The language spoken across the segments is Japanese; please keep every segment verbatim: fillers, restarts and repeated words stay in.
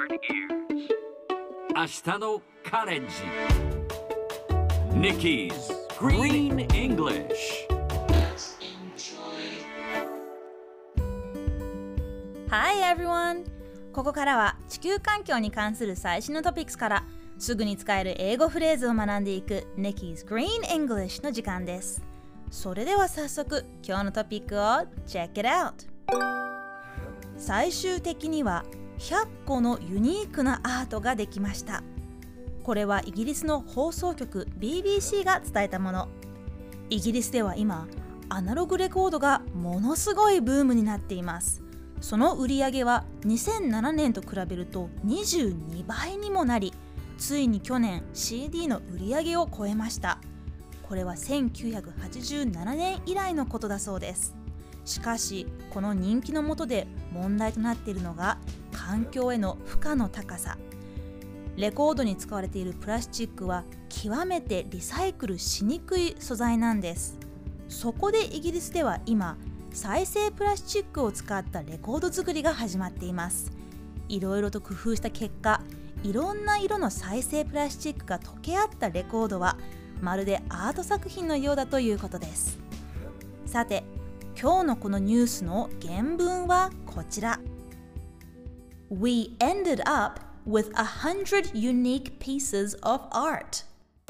明日のカレッジ Nikki's Green English。 Hi everyone! ここからは地球環境に関する最新のトピックスからすぐに使える英語フレーズを学んでいく Nikki's Green English の時間です。それでは早速今日のトピックを Check it out! 最終的にはひゃっこのユニークなアートができました。これはイギリスの放送局 ビービーシー が伝えたもの。イギリスでは今アナログレコードがものすごいブームになっています。その売り上げはにせんななねんと比べるとにじゅうにばいにもなり、ついに去年 シーディー の売り上げを超えました。これはせんきゅうひゃくはちじゅうななねん以来のことだそうです。しかしこの人気の下で問題となっているのが環境への負荷の高さ。レコードに使われているプラスチックは極めてリサイクルしにくい素材なんです。そこでイギリスでは今再生プラスチックを使ったレコード作りが始まっています。いろいろと工夫した結果、いろんな色の再生プラスチックが溶け合ったレコードはまるでアート作品のようだということです。さて、今日のこのニュースの原文はこちら。We ended up with a hundred unique pieces of art.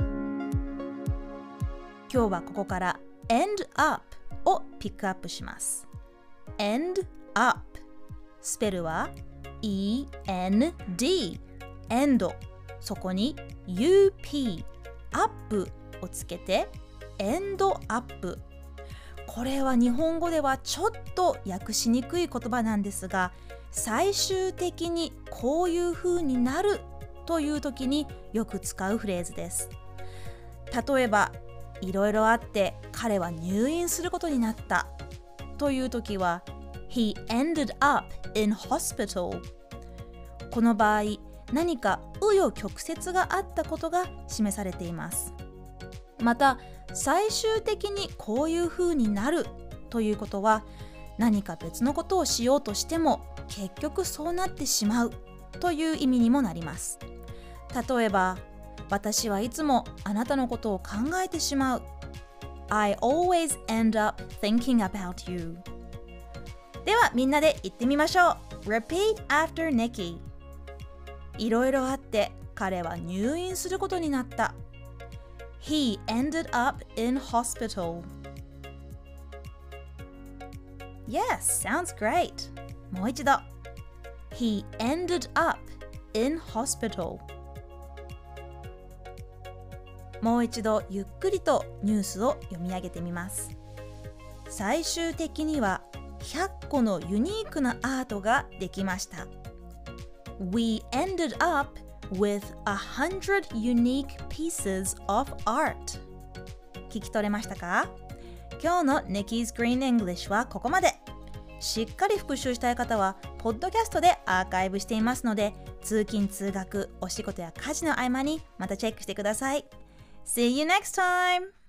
今日はここから end up をピックアップします。end up スペルは E N D end そこに U P up をつけて end up。これは日本語ではちょっと訳しにくい言葉なんですが、最終的にこういう風になるという時によく使うフレーズです。例えば、いろいろあって彼は入院することになったという時は He ended up in hospital。 この場合、何か紆余曲折があったことが示されています。また、最終的にこういう風になるということは、何か別のことをしようとしても結局そうなってしまうという意味にもなります。例えば、私はいつもあなたのことを考えてしまう。I always end up thinking about you。 ではみんなで言ってみましょう。 Repeat after Nikki。 いろいろあって彼は入院することになった。 He ended up in hospital。 Yes, sounds great。 もう一度。 He ended up in hospital。 もう一度ゆっくりとニュースを読み上げてみます。最終的にはひゃっこのユニークなアートができました。 We ended up with a hundred unique pieces of art。 聞き取れましたか？今日の Nikki's Green English はここまで。しっかり復習したい方はポッドキャストでアーカイブしていますので、通勤通学、お仕事や家事の合間にまたチェックしてください。See you next time!